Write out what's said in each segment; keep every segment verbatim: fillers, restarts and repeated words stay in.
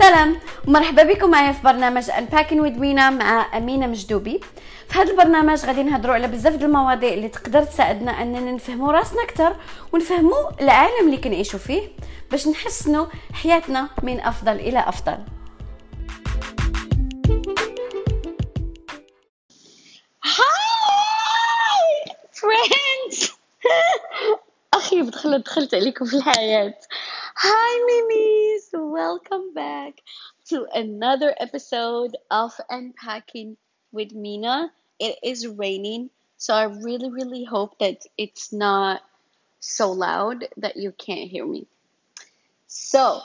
سلام ومرحبا بكم معايا في برنامج Unpacking with Mina مع أمينة مجدوبي. في هذا البرنامج غادي نهضروا على بزاف ديال المواضيع اللي تقدر تساعدنا اننا نفهموا راسنا اكثر ونفهموا العالم اللي كنعيشوا فيه باش نحسنوا حياتنا من افضل الى افضل. هاي فريندز اخي بدخل دخلت عليكم في الحياه. Hi Mimis, welcome back to another episode of Unpacking with Mina. It is raining, so I really really hope that it's not so loud that you can't hear me. So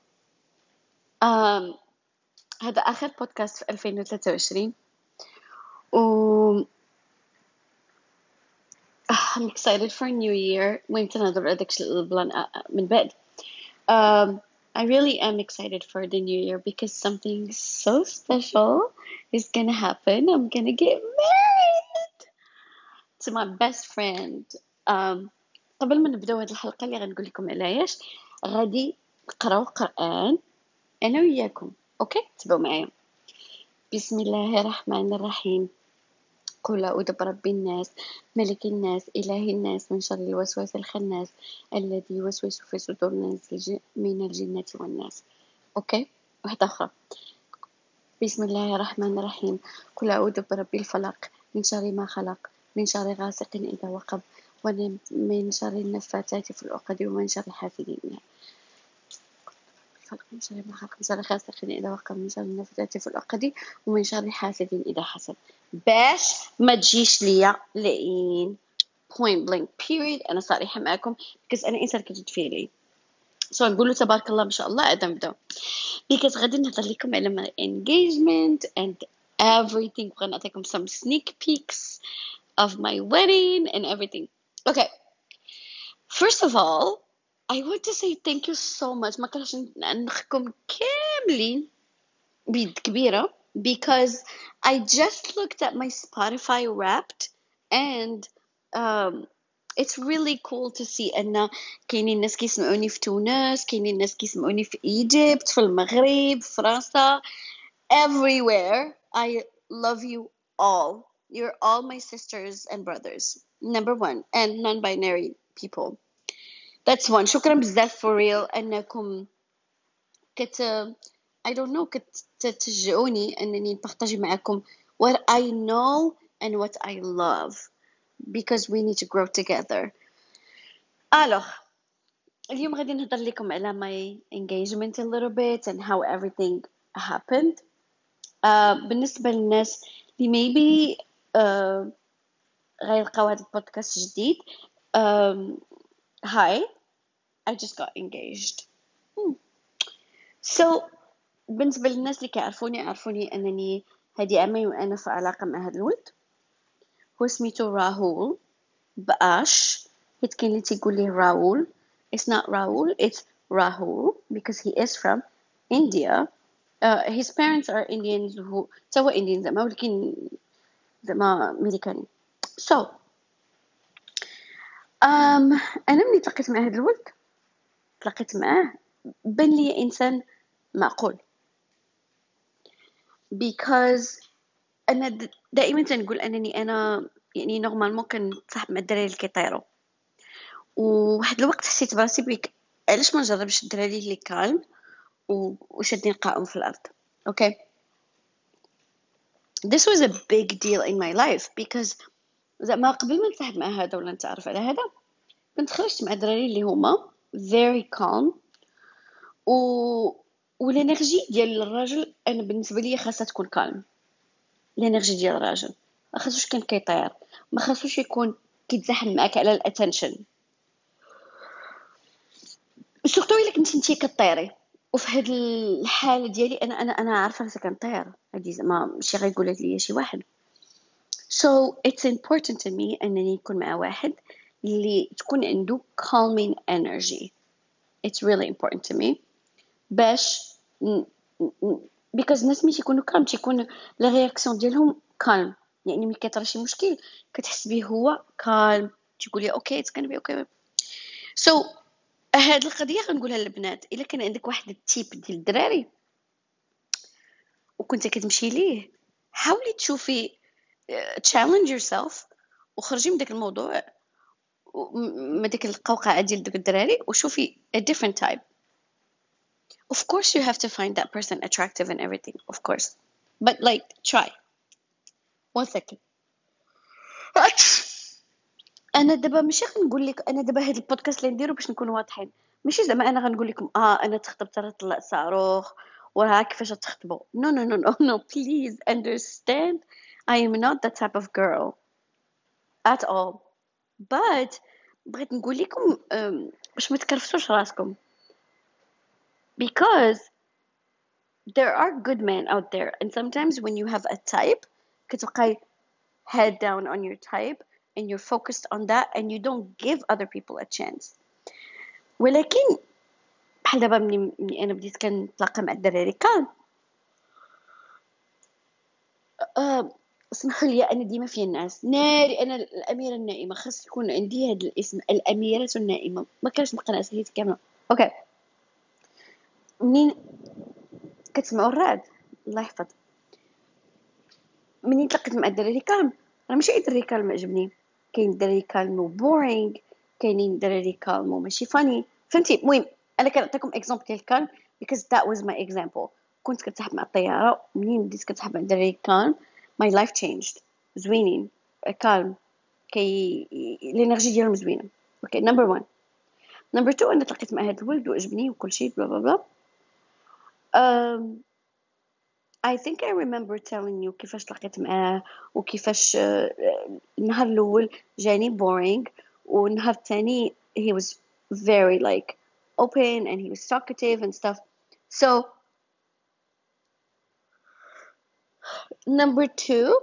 um هذا آخر بودكاست في ألفين وثلاثة وعشرين و I'm excited for a new year. ويمكن نهضر على داكشي البلان من بعد. Um, I really am excited for the new year because something so special is gonna happen. I'm gonna get married to my best friend. Um, قبل ما نبداو هذه الحلقة اللي غنقول لكم علاش غادي نقراو قرآن أنا وياكم. أوكي تبعوا معايا. بسم الله الرحمن الرحيم. قل أعوذ برب الناس ملك الناس إله الناس من شر الوسواس الخناس الذي يوسوس في صدور الناس من الجنة والناس. أوكي واحدة أخرى. بسم الله الرحمن الرحيم. قل أعوذ برب الفلق من شر ما خلق من شر غاسق إذا وقب ومن شر النفاثات في العقد ومن شر حاسد من شر ما خلق من شر غاسق إذا وقب من شر النفاثات في العقد ومن شر حاسد إذا حسد. باش ما تجيش ليا لين point blank period أنا صريحة معكم because أنا إنسان كتجد فيه لي so نقولوا تبارك الله ما شاء الله عاد نبداو because غادي نهضر لكم على my engagement and everything وغادي نعطيكم some sneak peeks of my wedding and everything. Okay, first of all I want to say thank you so much. ما كرهتش نخكم كاملين بيد كبيرة because I just looked at my Spotify Wrapped and um, it's really cool to see أن كاينين ناس كيسمعوني في تونس كاينين ناس كيسمعوني في إيجيبت في المغرب في فرنسا everywhere. I love you all. You're all my sisters and brothers. Number one. And non-binary people. That's one. شكرا بزاف for real أنكم كت I don't know كتشجعوني أنني نبارطاجي معكم what I know and what I love because we need to grow together. Alors اليوم غادي نهضر لكم على my engagement a little bit and how everything happened. uh, بالنسبة للناس اللي maybe uh, غيلقاو هذا البودكاست جديد um, hi I just got engaged. hmm. so بالنسبة للناس اللي كيعرفوني عرفوني أنني هذه عامين وأنا في علاقة مع هذا الولد هو سميتو راهول بأش. حيت كاين اللي تيقول ليه راول. It's not Rahul, it's Rahul because he is from India. Uh, his parents are Indians who توا Indians زعما ولكن زعما أمريكاني. So um, أنا ملي تلاقيت مع هذا الولد تلاقيت معاه بان لي إنسان معقول because انا دائما تنقول انني انا يعني نورمالمون كنتصاحب مع الدراري اللي كيطيروا وواحد الوقت حسيت براسي بك علاش ما نجربش الدراري اللي كالم وشادين قائم في الارض. اوكي this was a big deal in my life because زعما قبل ما نتصاحب مع هذا ولا نتعرف على هذا كنت خرجت مع الدراري اللي هما very calm و والانرجي ديال الراجل انا بالنسبه لي خاصها تكون كالم. الانرجي ديال الراجل ما خاصوش كان كيطير ما خاصوش يكون كيتزاحم معاك على الاتنشن سورتو الا كنتي نتي كطيري وفي هاد الحاله ديالي انا انا انا عارفه راسي كنطير هادي زعما ماشي غيقولها ليا شي واحد. so it's important to me انني نكون مع واحد اللي تكون عنده calming energy. it's really important to me باش because الناس ملي تيكونوا calm تيكون لا رياكسيون ديالهم calm يعني ملي كيطرا شي مشكل كتحس به هو calm تيقول لي اوكي it's gonna be okay. so هاد القضيه غنقولها للبنات الا كان عندك واحد التيب ديال الدراري وكنت كتمشي ليه حاولي تشوفي challenge yourself وخرجي من داك الموضوع من ديك القوقعه ديال دوك الدراري وشوفي a different type. Of course you have to find that person attractive and everything, of course, but like try. One second. انا دابا ماشي غنقول لك انا دابا هاد البودكاست اللي نديرو باش نكونوا واضحين ماشي زعما انا غنقول لكم اه انا تخطبت راه طلع صاروخ وراه كيفاش تخطبوا. no no no no no please understand I am not that type of girl at all. but بغيت نقول لكم um, باش ما تكرفتوش راسكم because there are good men out there and sometimes when you have a type كتبقاي head down on your type and you're focused on that and you don't give other people a chance. ولكن بحال دابا مني, مني انا بديت كنتلاقى مع الدراري كان أه اسمحوا لي انا ديما في الناس ناري انا الاميره النائمه خاص يكون عندي هذا الاسم الاميره النائمه ما كانش نبقى نعس حياتي كامله. اوكي منين كتسمعوا الرعد الله يحفظ منين تلاقيت مع الدراري كالم راه ماشي اي دراري كالم عجبني كاين دراري كالم وبورينغ كاينين دراري كالم وماشي فاني فهمتي. المهم انا كنعطيكم اكزامبل ديال كالم because that was my example. كنت كنسحب مع الطياره منين بديت كنسحب مع الدراري كالم my life changed. زوينين كالم كي الانرجي ديالهم زوينه. اوكي نمبر واحد. نمبر اثنين انا تلاقيت مع هذا الولد وعجبني وكل شيء بلا بلا بلا. um, I think I remember telling you كيفاش تلاقيت معاه وكيفاش النهار الأول جاني boring والنهار الثاني he was very like open and he was talkative and stuff. So number two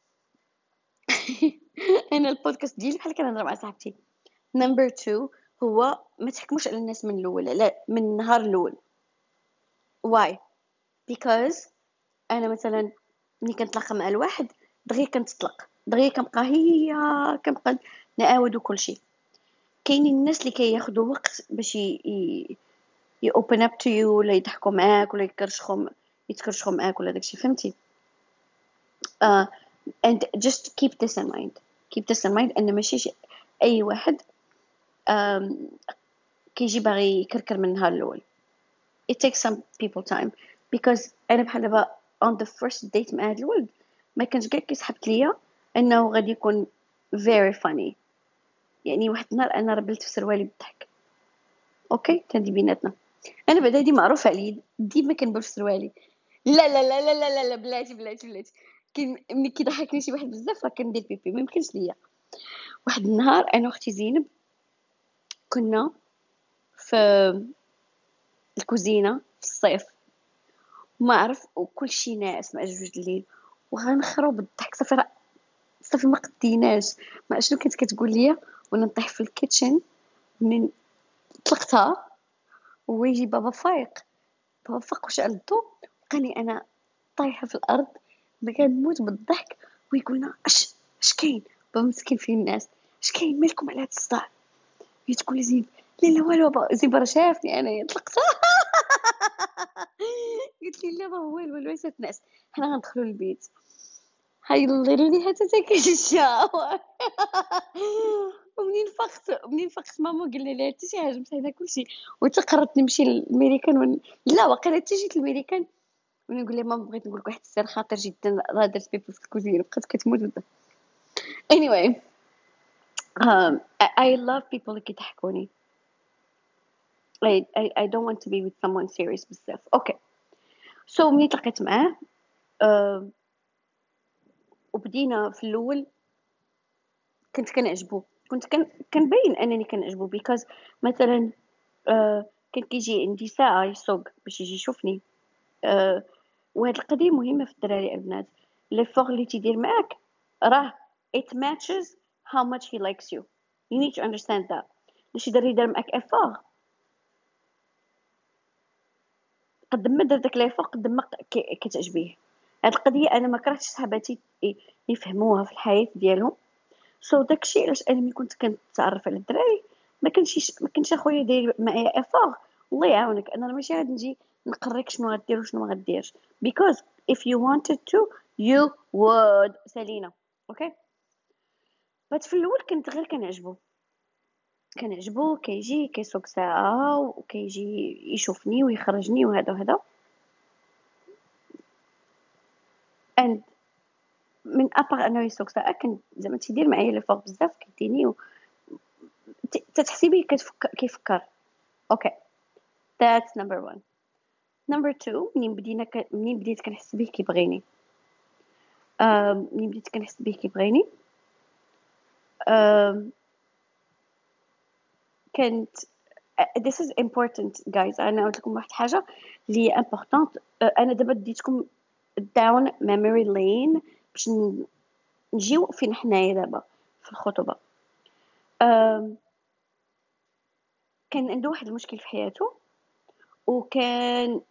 أنا البودكاست ديالي بحال كنهضر مع صاحبتي. number two هو ما تحكموش على الناس من الأول لا من النهار الأول. why because أنا مثلا ملي كنتلاقى مع الواحد دغيا كنتطلق دغيا كنبقى هي كنبقى نعاود وكل شيء. كاينين الناس اللي كياخذوا وقت باش ي ي open up to you ولا يضحكوا معاك ولا يكرشخوا يتكرشخوا معاك ولا داكشي فهمتي. uh, and just keep this in mind keep this in mind ان ماشي اي واحد um, كيجي باغي يكركر من النهار الاول. it takes some people time because انا بحال دابا on the first date مع هذا الولد ما كانش كاع كيسحبت ليا انه غادي يكون very funny. يعني واحد النهار انا ربلت في سروالي بالضحك. اوكي تندي بيناتنا انا بعدا هادي معروفه عليا ديما كنبل في سروالي. لا لا لا لا لا لا, لا بلاتي بلاتي بلاتي كي ملي كيضحكني شي واحد بزاف راه كندير بيبي ما يمكنش ليا. واحد النهار انا واختي زينب كنا في الكوزينه في الصيف وما عرف وكل شيء ناعس مع جوج الليل وغنخرب بالضحك صافي راه صافي ما قديناش ما شنو كنت كتقول ليا وانا نطيح في الكيتشن من طلقتها ويجي بابا فايق بابا فاق وشعل الضوء بقاني انا طايحه في الارض ما كنموت بالضحك ويقولنا اش اش كاين بابا مسكين فيه الناس اش كاين مالكم على هاد الصداع هي تقول لي زين لا لا والو بابا زين برا شافني انا طلقتها قلت لي لا بابا والو والو عيسات ناس حنا غندخلوا للبيت هيضروا لي حتى تاكل الشاور ومنين فقت منين فقت ماما قال لي لا حتى شي حاجه مسحنا كلشي وتقررت نمشي للميريكان ون... لا واقيلا حتى جيت للميريكان وانا نقول لها ماما بغيت نقول لك واحد السر خاطر جدا راه درت بيبي في الكوزينه بقات كتموت بالضحك. anyway um, I, I love people اللي كيضحكوني. I, I, I don't want to be with someone serious بزاف. اوكي so ملي تلاقيت معاه uh, وبدينا في الاول كنت كنعجبو كنت كن كنبين انني كنعجبو because مثلا uh, كان كيجي عندي ساعه يسوق باش يجي يشوفني uh, وهاد القضيه مهمه في الدراري البنات. لي فور اللي تيدير معاك راه it matches how much he likes you. you need to understand that. شي دري دار معاك افور قد ما دار داك لافور قد ما كتعجبيه. هاد القضيه انا ما كرهتش صحاباتي يفهموها في الحياه ديالهم. سو so داكشي علاش انا ملي كنت كنتعرف على الدراري ما كانش ما كانش اخويا داير معايا افور الله يعاونك انا ماشي غادي نجي نقريك شنو غدير وشنو ما غديرش because if you wanted to you would. سالينا اوكي. بس في الاول كنت غير كنعجبو كنعجبو كيجي كيسوق ساعه وكيجي يشوفني ويخرجني وهذا وهذا and من ابار انه يسوق ساعه كان زعما تيدير معايا لي فوق بزاف كيديني و... تتحسي بيه كتفكر كيفكر اوكي. that's number one. number two منين بدينا ك... منين بديت كنحس بيه كيبغيني أم... منين بديت كنحس بيه كيبغيني أم... كنت this is important guys. انا قلت لكم واحد حاجه اللي important. انا دابا ديتكم down memory lane باش نجيو فين حنايا دابا في الخطوبه. أم... كان عنده واحد المشكل في حياته وكان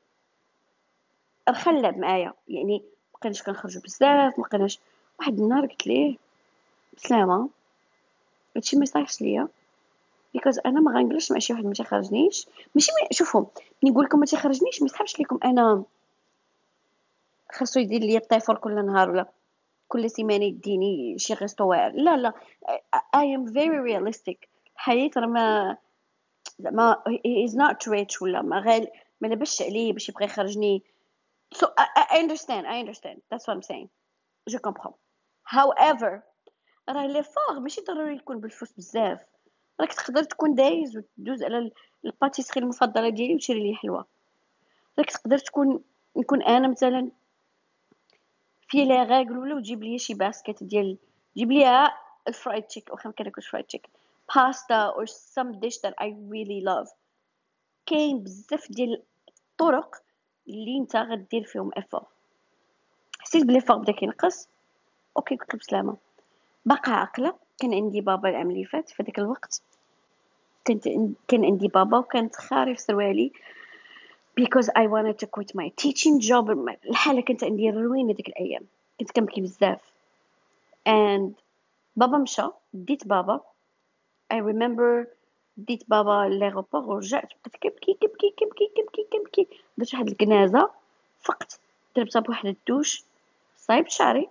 رخلب معايا يعني مابقيناش كنخرجوا بزاف مابقيناش. واحد النهار قلت ليه بسلامه هادشي ما يصالحش ليا بيكوز انا ما غنجلسش مع شي واحد ما تيخرجنيش. ماشي مي... شوفوا ملي نقول لكم ما تيخرجنيش ما يسحبش لكم انا خاصو يدير لي الطيفور كل نهار ولا كل سيمانه يديني شي غيستو واعر. لا لا I am very realistic. الحياه راه ما زعما he is not rich ولا ما غال ما لبسش عليه باش يبغي يخرجني. so I, I understand I understand that's what I'm saying. je comprends. however راه لي فور ماشي ضروري يكون بالفلوس بزاف. راك تقدر تكون دايز وتدوز على الباتيسري المفضله ديالي وتشري لي حلوه. راك تقدر تكون نكون انا مثلا في لي غاغل ولا وتجيب لي شي باسكيت ديال جيب لي الفرايد تشيك واخا ما كناكلش فرايد تشيك باستا or some dish that I really love. كاين بزاف ديال الطرق اللي انت غدير فيهم افور. حسيت بلي فور بدا كينقص اوكي قلت له بسلامه. باقا عاقله كان عندي بابا العام اللي فات في داك الوقت كنت كان عندي بابا وكانت خاري في سروالي because I wanted to quit my teaching job. الحاله كانت عندي روينه ديك الايام كنت كنبكي بزاف and بابا مشى ديت بابا. I remember ديت بابا ليغوبور ورجعت بقيت كنبكي كنبكي كنبكي كنبكي كنبكي درت واحد الكنازه فقت درت بواحد الدوش صايبت شعري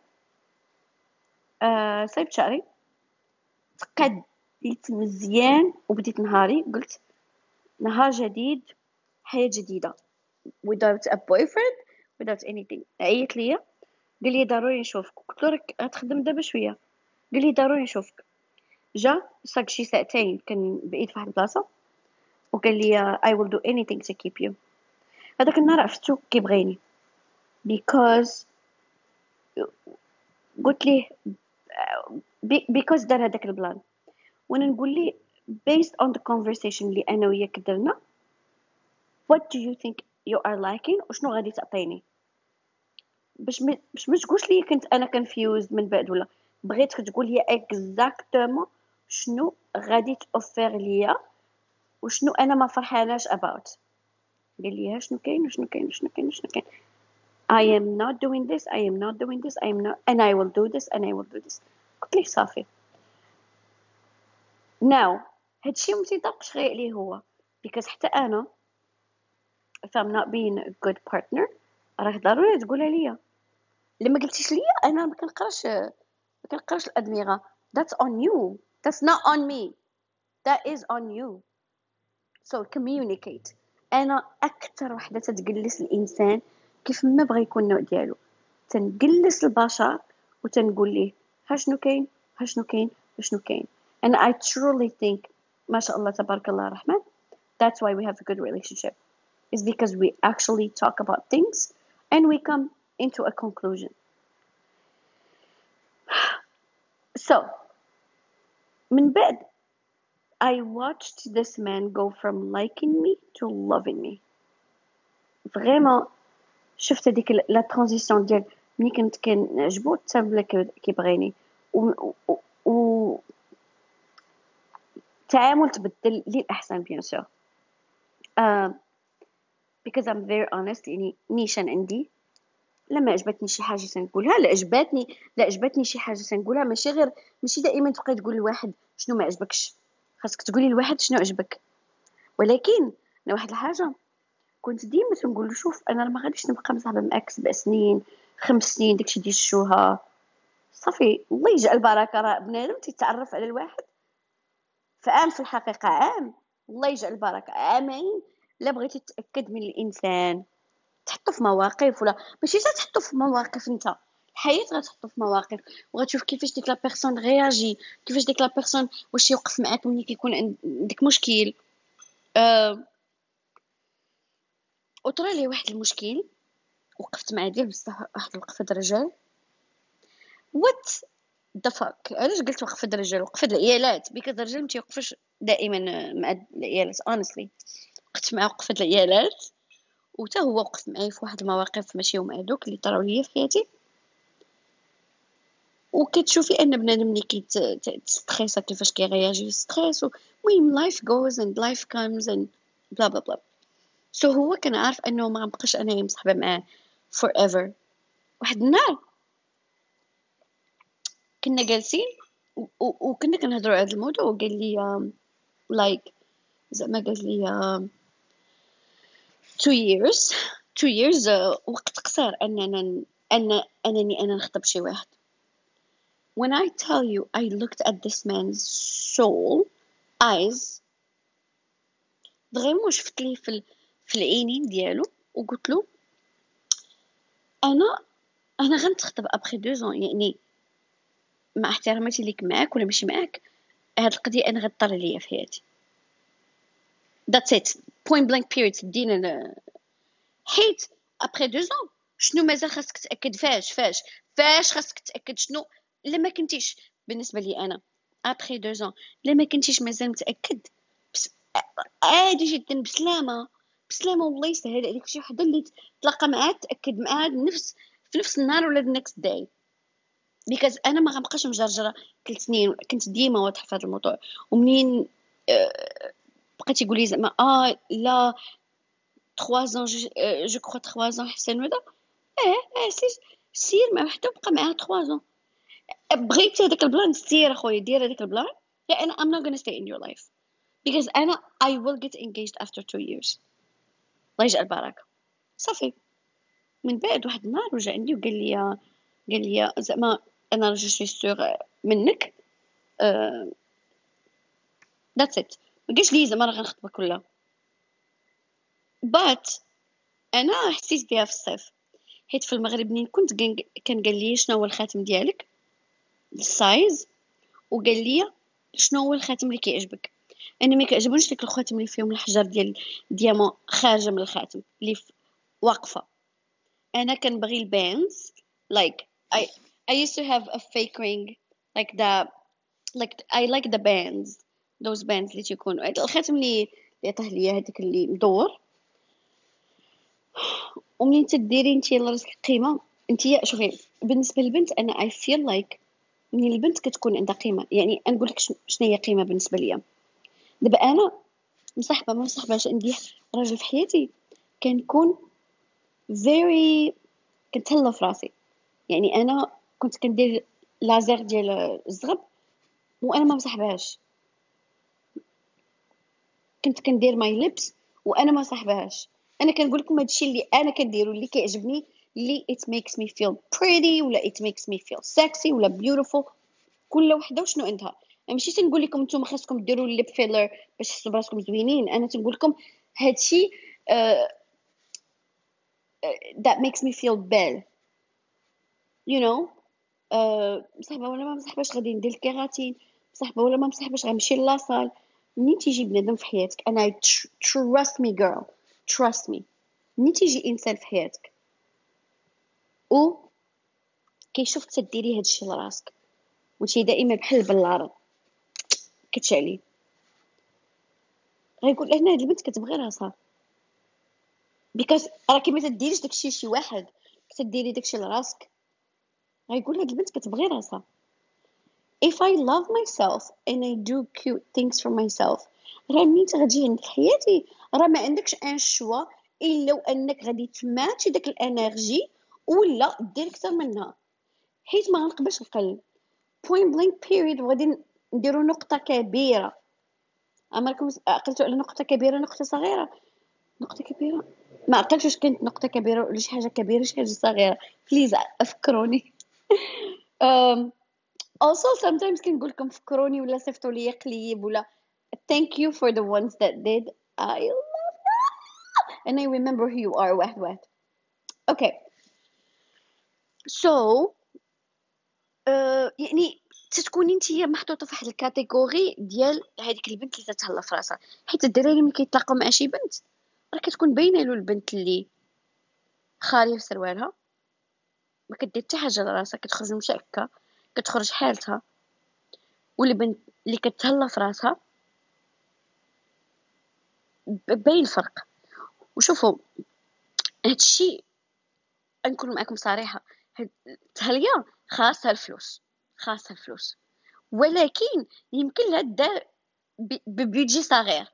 آه صايبت شعري تقديت مزيان وبديت نهاري قلت نهار جديد حياة جديدة without a boyfriend without anything. عيط ليا قال لي ضروري نشوفك. قلت له راك غتخدم دابا شويه. قال لي ضروري نشوفك. جا ساق شي ساعتين كان بعيد في واحد البلاصه وقال لي I will do anything to keep you. هذاك النهار عرفتو كيبغيني because قلت ليه because دار هذاك البلان وانا نقول ليه based on the conversation اللي انا وياك درنا what do you think you are liking وشنو غادي تعطيني باش م... باش ما تقولش لي كنت انا confused من بعد ولا بغيتك تقول لي exactement شنو غادي توفر ليا وشنو انا ما فرحاناش about. قال لي شنو كاين وشنو كاين وشنو كاين وشنو كاين. I am not doing this I am not doing this I am not and I will do this and I will do this. قلت ليه صافي now هادشي ما تيطبقش غير عليه هو because حتى انا if I'm not being a good partner راك ضروري تقولها ليا. لما قلتيش ليا انا ما كنقراش ما كنقراش الادمغه. that's on you that's not on me that is on you. so communicate. انا اكثر وحده تتجلس الانسان كيف ما بغى يكون النوع ديالو تنجلس البشر وتنقول ليه ها شنو كاين ها شنو كاين وشنو كاين. and I truly think ما شاء الله تبارك الله الرحمن that's why we have a good relationship is because we actually talk about things and we come into a conclusion. so من بعد I watched this man go from liking me to loving me. vraiment شفت هذيك لا ترانزيسيون ديال ملي كنت كنعجبو حتى ولا كيبغيني و, و... و... التعامل تبدل للاحسن بيان سور uh, because I'm very honest. يعني نيشان عندي لما عجبتني شي حاجه تنقولها لا عجبتني لا عجبتني شي حاجه تنقولها ماشي غير ماشي دائما تبقى تقول لواحد شنو ما عجبكش. خاصك تقولي لواحد شنو عجبك. ولكن انا واحد الحاجه كنت ديما تنقول له شوف انا ما غاديش نبقى مصاحبه معاك سبع سنين خمس سنين داكشي ديال الشوهه صافي الله يجعل البركه راه بنادم تيتعرف على الواحد فعام في الحقيقه عام الله يجعل البركه عامين لا بغيتي تتاكد من الانسان تحطو في مواقف ولا ماشي حتى تحطو في مواقف انت الحياه غتحطو في مواقف وغتشوف كيفاش ديك لا بيرسون رياجي كيفاش ديك لا بيرسون واش يوقف معاك ملي كيكون عندك مشكل أه وطرا لي واحد المشكل وقفت مع ديال بصح واحد الوقفه د الرجال وات ذا فاك علاش قلت وقفه د الرجال وقفه د العيالات بيكوز الرجال ما تيوقفش دائما مع العيالات honestly وقفت مع وقفه د العيالات وتا هو وقف معايا في واحد المواقف ماشي هما هذوك اللي طراو ليا في حياتي وكتشوفي ان بنادم ملي كيتستريس كيفاش كيرياجي ستريس المهم life goes and life comes and blah blah blah سو so هو كان عارف انه ما غنبقاش انايا مصاحبه معاه forever واحد النهار كنا جالسين وكنا كنهضروا على هذا الموضوع وقال لي like زعما قال لي two years two years uh, وقت قصير اننا ان انني انا نخطب شي واحد. When I tell you I looked at this man's soul eyes vraiment شفت ليه في في العينين ديالو وقلت له انا انا غنتخطب ابخي دو زون يعني مع احتراماتي ليك معاك ولا ماشي معاك هاد القضيه انا غطر ليا في حياتي that's it point blank period دينا حيت ابخي دو زون شنو مازال خاصك تاكد فاش فاش فاش خاصك تاكد شنو الا ما كنتيش بالنسبه لي انا ابخي دو زون الا ما كنتيش مازال متاكد بس عادي جدا بسلامه بسلامه والله يسهل عليك شي وحده اللي تلاقى معاه تاكد معاه نفس في نفس النهار ولا the next day because انا ما غنبقاش مجرجره ثلاث سنين كنت ديما واضحه في هذا الموضوع ومنين أه بقيتي يقول لي زعما اه لا trois ans je, euh, je crois trois ans حسن ولا اه اه سير سير مع وحده وبقى معاها trois ans بغيتي هذاك البلان سير اخويا دير هذاك البلان لا انا I'm not gonna stay in your life because انا I will get engaged after two years الله يجعل البركه صافي من بعد واحد النهار رجع عندي وقال لي قال لي زعما انا جو سوي سور منك أه that's it ما قالش لي زعما راه غنخطبك ولا but انا حسيت بها في الصيف حيت في المغرب منين كنت كان قال لي شنو هو الخاتم ديالك السايز وقال لي شنو هو الخاتم اللي كيعجبك انا ما كيعجبونيش ديك الخواتم اللي فيهم الحجر ديال ديامون خارجه من الخاتم اللي واقفه انا كنبغي الباندز like I I used to have a fake ring like the like I like the bands those bands اللي تيكونوا الخاتم اللي اللي عطاه ليا هذاك اللي مدور ومنين تديري انت لراسك قيمه انت شوفي بالنسبه للبنت انا I feel like منين البنت كتكون عندها قيمه يعني نقول لك شنو هي قيمه بالنسبه ليا دابا انا مصاحبه ما مصاحباش عندي راجل في حياتي كنكون very كنتهلا في راسي يعني انا كنت كندير لازير ديال الزغب وانا ما مصاحبهاش كنت كندير ماي ليبس وانا ما صاحبهاش انا كنقول لكم هادشي اللي انا كنديرو اللي كيعجبني اللي it makes me feel pretty ولا it makes me feel sexy ولا beautiful كل وحده وشنو عندها ماشي تنقول لكم نتوما خاصكم ديروا الليب فيلر باش تحسوا براسكم زوينين انا تنقول لكم هادشي uh, that makes me feel belle you know uh, مصاحبه ولا ما مصاحباش غادي ندير الكيراتين مصاحبه ولا ما مصاحباش غنمشي لاصال منين تيجي بنادم في حياتك انا trust me girl trust me منين تيجي انسان في حياتك و كيشوف تديري هادشي لراسك وانتي دائما بحال البلاره كتشعلي غيقول هنا هاد البنت كتبغي راسها بيكاز راكي ما تديريش داكشي لشي واحد كتديري داكشي لراسك غيقول هاد البنت كتبغي راسها if I love myself and I do cute things for myself راه ملي تغتجي عندك حياتي راه ما عندكش ان شوا الا انك غادي تماتشي داك الانرجي ولا دير اكثر منها حيت ما غنقبلش القلب point blank period وغادي نديرو نقطه كبيره اما راكم عقلتوا على نقطه كبيره نقطه صغيره نقطة كبيرة، ما عقلتش واش كانت نقطة كبيرة ولا شي حاجة كبيرة شي حاجة صغيرة. بليز أفكروني. um, also sometimes كنقول لكم فكروني ولا صيفطوا لي قليب ولا thank you for the ones that did. I love that and I remember who you are. واحد واحد. okay so uh, يعني تتكوني نتيا محطوطه في واحد الكاتيجوري ديال هذيك البنت اللي تتهلا في راسها، حيت الدراري ملي كيتلاقاو مع شي بنت راه كتكون باينه له البنت اللي خاليه في سروالها، ما كدير حتى حاجه لراسها، كتخرج مشاكه، كتخرج حالتها، والبنت اللي كتهلا في راسها باين الفرق. وشوفوا هادشي نكون معكم صريحه، هاد التهليه خاصها الفلوس، خاصها الفلوس، ولكن يمكن لها دار ببيدجي صغير.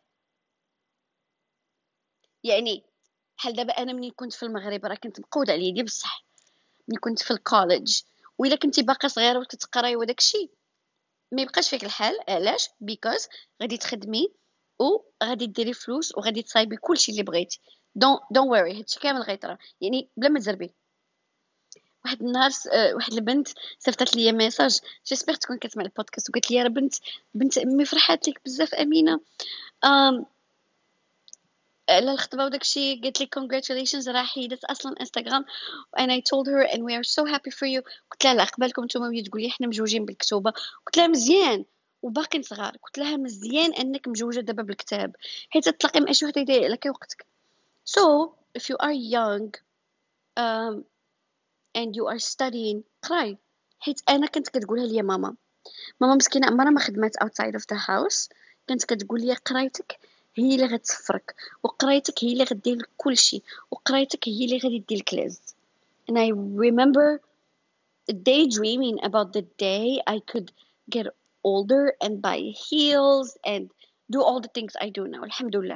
يعني بحال دابا انا ملي كنت في المغرب راه كنت مقوده على يدي بصح، ملي كنت في الكوليج وإلا كنتي باقا صغيره وكتقراي وداك الشيء ما يبقاش فيك الحال. علاش؟ بيكوز غادي تخدمي وغادي ديري فلوس وغادي تصايبي كلشي اللي بغيتي. دون دون وري، هادشي كامل غيطرا، يعني بلا ما تزربي. واحد النهار س- آه، واحد البنت صيفطت لي ميساج، جيسبر تكون كتسمع البودكاست، وقالت لي راه بنت بنت امي فرحات لك بزاف امينه آم على الخطبه وداكشي، قالت لي congratulations راه حيدت اصلا انستغرام and I told her and we are so happy for you. قلت لها لا قبالكم نتوما وهي تقول لي حنا مجوجين بالكتوبه. قلت لها مزيان وباقيين صغار، قلت لها مزيان انك مجوجه دابا بالكتاب حيت تلاقي مع شي وحده يضيع لك وقتك. so if you are young um, and you are studying قراي. حيت انا كنت كتقولها لي ماما، ماما مسكينه عمرها ما خدمات outside of the house، كانت كتقول لي قرايتك هي اللي غتسفرك، وقرايتك هي اللي غدير لك كلشي، وقرايتك هي اللي غادي دير لك العز. and I remember daydreaming about the day I could get older and buy heels and do all the things I do now. Alhamdulillah.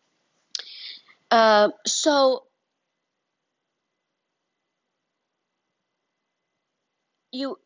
Uh, so you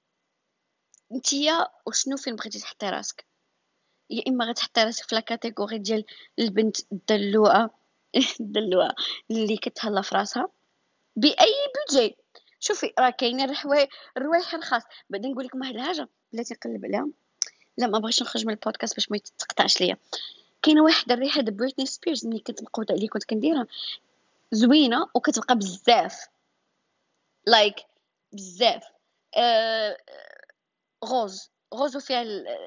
نتيا وشنو فين بغيتي تحطي راسك؟ يا اما غتحطي راسك في لا كاتيجوري ديال البنت الدلوعه الدلوعه اللي كتهلا في راسها باي بودجي. شوفي راه كاينين الروايح الروايح الخاص. بعدين نقول لكم واحد الحاجه بلاتي نقلب عليها، لا ما بغيتش نخرج من البودكاست باش ما يتقطعش ليا. كاينه واحد الريحه د بريتني سبيرز ملي كنت مقوده عليه كنت كنديرها زوينه وكتبقى بزاف لايك like, بزاف آه... غوز غوز وفيها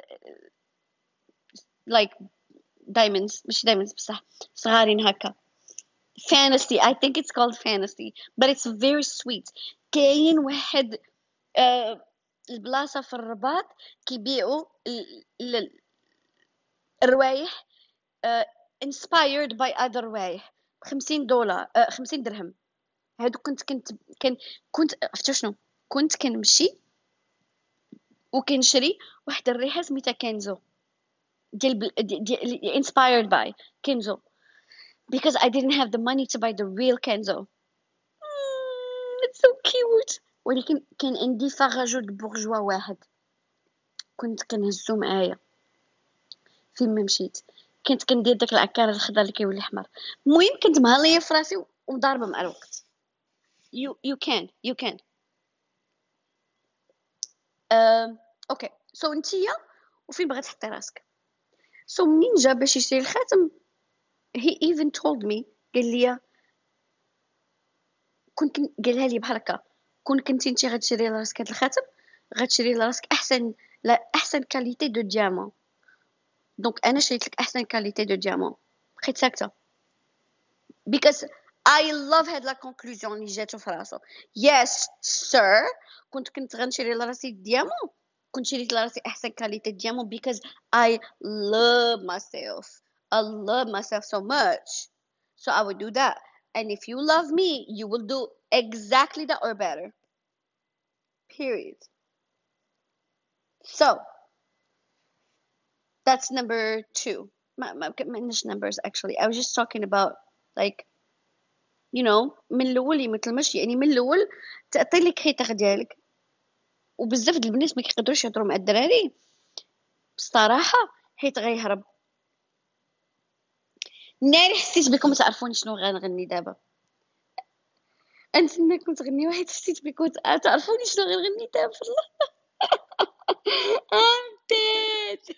لايك like, دايموندز ماشي دايموندز بصح صغارين هكا. fantasy I think it's called fantasy but it's very sweet. كاين واحد آه... البلاصه في الرباط كيبيعوا ال... ال... الروايح uh, inspired by other روايح بخمسين دولار uh, خمسين درهم. هادو كنت كنت كان كنت عرفتوا شنو كنت كنمشي وكنشري واحد الريحه سميتها كنزو ديال بل... ديال ديال inspired by كنزو because I didn't have the money to buy the real Kenzo. mm, it's so cute. ولكن كان عندي فغاجو د بورجوا واحد كنت كنهزو معايا فين ما مشيت، كنت كندير داك العكار الخضر اللي كيولي احمر. المهم كنت مهليه في راسي ومضاربه مع الوقت. you you can you can uh, اوكي سو so, نتيا وفين بغات تحطي راسك. سو so, منين جا باش يشري الخاتم he even told me قال لي كنت قالها لي بحال هكا كون كنتي انت غتشري لراسك هذا الخاتم غتشري لراسك احسن لا احسن كاليتي دو ديامون. دونك انا شريت لك احسن كاليتي دو ديامون. بقيت ساكته because I love هاد لا كونكلوزيون اللي جاتو في راسو. yes sir كنت كنت غنشري لراسي ديامون كنت شريت لراسي احسن كاليتي ديامون because I love myself. I love myself so much so I would do that and if you love me you will do exactly that or better period. So that's number two. ما ما عندناش numbers actually. I was just talking about like you know من الاول يمثلمش يعني من الاول تعطي لك خيطه ديالك. وبزاف د البنات ما كيقدروش يهضروا مع الدراري بصراحه حيت غيهرب. ناري حسيت بكم تعرفوني شنو غنغني دابا. انت انكم تغني واحد حسيت بكم تعرفوني شنو غنغني دابا. والله I'm dead.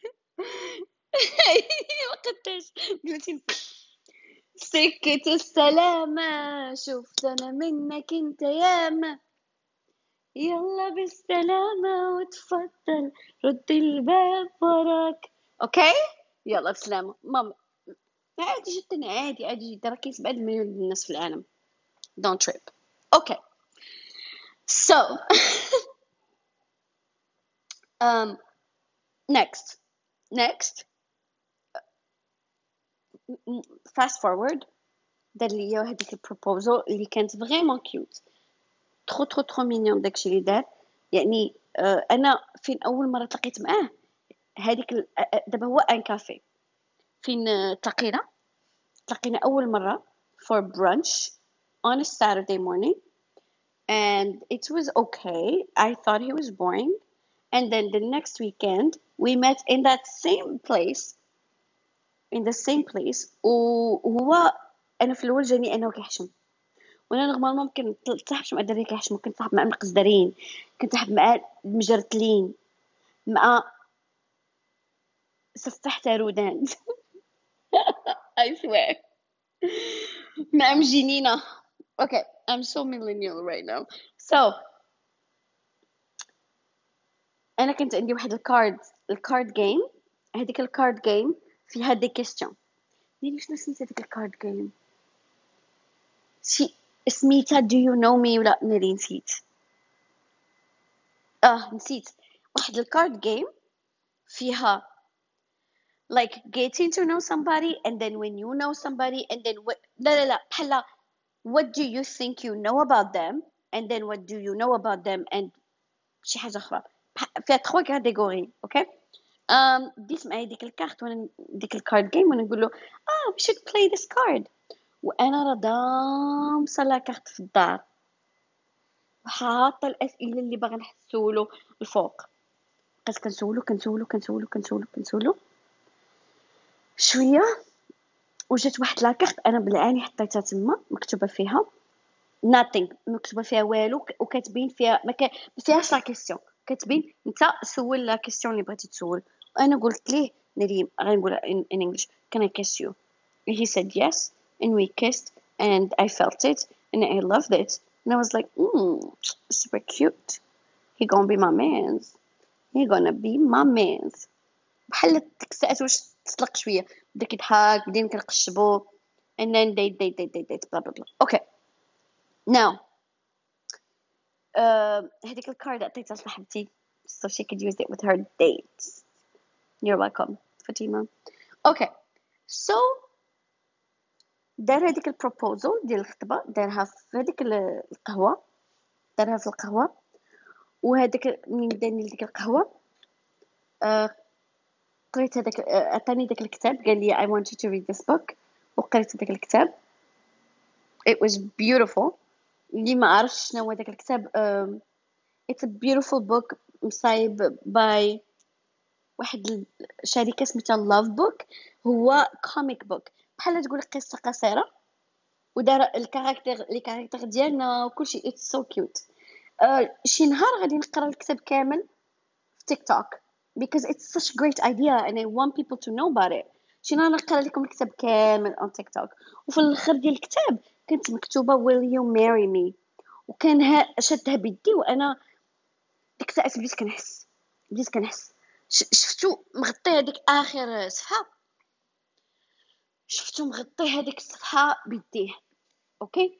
وقتاش قلتي سكة السلامة شفت انا منك انت ياما يلا بالسلامة وتفضل رد الباب وراك. اوكي يلا بسلامة ماما. عادي جدا عادي عادي جدا، راكي سبعة مليون الناس في العالم. don't trip. okay so um next next fast forward دار ليا هذيك البروبوزال اللي كانت فريمون كيوت، ترو ترو ترو مينيون داكشي اللي دار. يعني آه انا فين اول مره تلاقيت معاه هذيك ال- آه، آه، دابا هو ان كافي فين آه، تلاقينا تلاقينا اول مره for brunch on a Saturday morning and it was okay. I thought he was boring and then the next weekend we met in that same place in the same place وهو انا في الاول جاني انه كيحشم، وانا نورمالمون ممكن تصاحبش مع الدراري كيحشموا، كنت صاحب مع المقزدرين، كنت صاحب مع المجرتلين، مع سفاح تارودان. I swear. مع مجنينة. okay I'm so millennial right now. so انا كنت عندي واحد الكارد الكارد جيم. هذيك الكارد جيم فيها دي كيستيون. يعني شنو سميت هذيك الكارد جيم؟ شي سميتها do you know me ولا ناري نسيت. اه نسيت. واحد الكارد جيم فيها like getting to know somebody and then when you know somebody and then what لا لا لا بحال what do you think you know about them and then what do you know about them and شي حاجة أخرى فيها تخوا كاتيجوري. اوكي um ديت معايا ديك الكارت وانا ديك الكارد جيم وانا نقول له اه we should play this card وانا راه دامصه لا كارت في الدار وحاطه الاسئله اللي باغا نحسولو الفوق. بقيت كنسولو كنسولو كنسولو كنسولو كنسولو شويه وجات واحد لاكارت انا بالعاني حطيتها تما مكتوبه فيها nothing، مكتوبه فيها والو وكاتبين فيها ما كا- ما فيهاش لا كيسيون، كاتبين انت سول لا كيسيون اللي بغيتي تسول. وانا قلت ليه نريم غنقولها in, in English can I kiss you and he said yes and we kissed and I felt it and I loved it and I was like mm, super cute he gonna be my man's he gonna be my man's. بحال تكسات واش تطلق شويه بدا كيضحك بدينا كنقشبو and then date date date date date blah blah blah. okay now uh, هذيك الكارد عطيتها لصاحبتي so she could use it with her dates. you're welcome فاطمه. okay so دار هذيك البروبوزال ديال الخطبه دارها في هذيك القهوه دارها في القهوه وهذاك منين داني ديك القهوه آه قريت هذاك آه، عطاني داك الكتاب قال لي I want you to read this book وقريت داك الكتاب it was beautiful. اللي ما عرفش شنو هو داك الكتاب um, it's a beautiful book مصايب by واحد الشركة سميتها love book. هو comic book بحال تقول قصة قصيرة ودار الكاركتر لي كاركتر ديالنا وكلشي it's so cute. uh, شي نهار غادي نقرا الكتاب كامل في تيك توك because it's such a great idea and I want people to know about it. شي نهار نقرا لكم الكتاب كامل on تيك توك وفي الاخر ديال الكتاب كانت مكتوبة will you marry me وكان ها شدها بيدي وانا ديك الساعه بديت كنحس بديت كنحس ش- شفتو مغطي هذيك اخر صفحه شفتو مغطي هذيك الصفحه بيديه. اوكي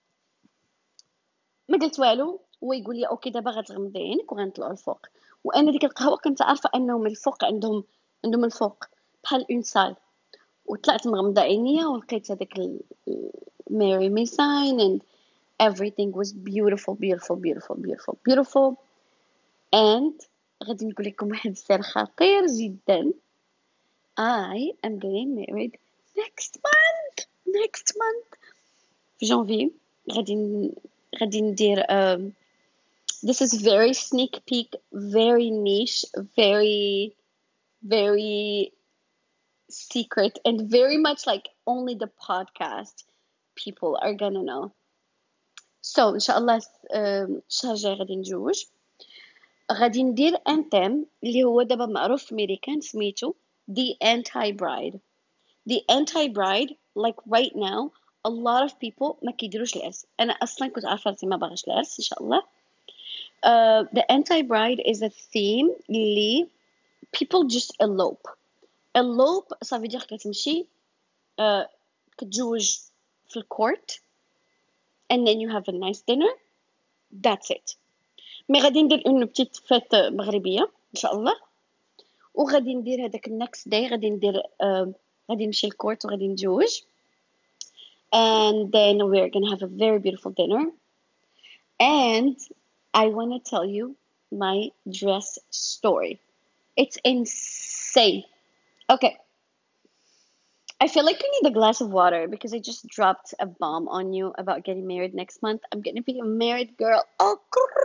ما قلت والو هو يقول لي اوكي دابا غتغمضي عينك وغنطلعوا الفوق وانا ديك القهوه كنت عارفه انهم الفوق عندهم عندهم الفوق بحال اون سال وطلعت مغمضه عينيا ولقيت هذاك ماري مي ساين and everything was beautiful beautiful beautiful beautiful beautiful and غادي نقول لكم واحد السر خطير جدا. I am getting married next month next month في جانفي غادي ن- غادي ندير um, this is very sneak peek very niche very very secret and very much like only the podcast people are gonna know. So ان شاء الله آم، الشهر الجاي غادي نتزوج. غادي ندير ان تيم اللي هو دابا معروف في امريكان سميتو the anti bride. the anti bride, like right now a lot of people ما كيديروش العرس. انا اصلا كنت عارفه راسي ما باغاش العرس ان شاء الله. uh, the anti bride is a theme اللي people just elope. elope ça veut dire كتمشي uh, كتزوج في الكورت and then you have a nice dinner. That's it. مي غادي ندير اون بتيت فيت مغربيه ان شاء الله، وغادي ندير هذاك النكست داي غادي ندير uh, غادي نمشي الكورت وغادي نتزوج and then we're gonna have a very beautiful dinner. And I want to tell you my dress story. It's insane. Okay, I feel like I need a glass of water because I just dropped a bomb on you about getting married next month. I'm gonna be a married girl. Oh,